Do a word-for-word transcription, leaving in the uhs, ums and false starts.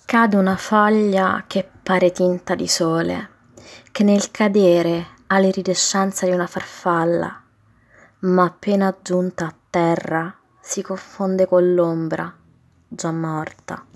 Cade una foglia che pare tinta di sole, che nel cadere ha l'iridescenza di una farfalla, ma appena giunta a terra si confonde con l'ombra, già morta.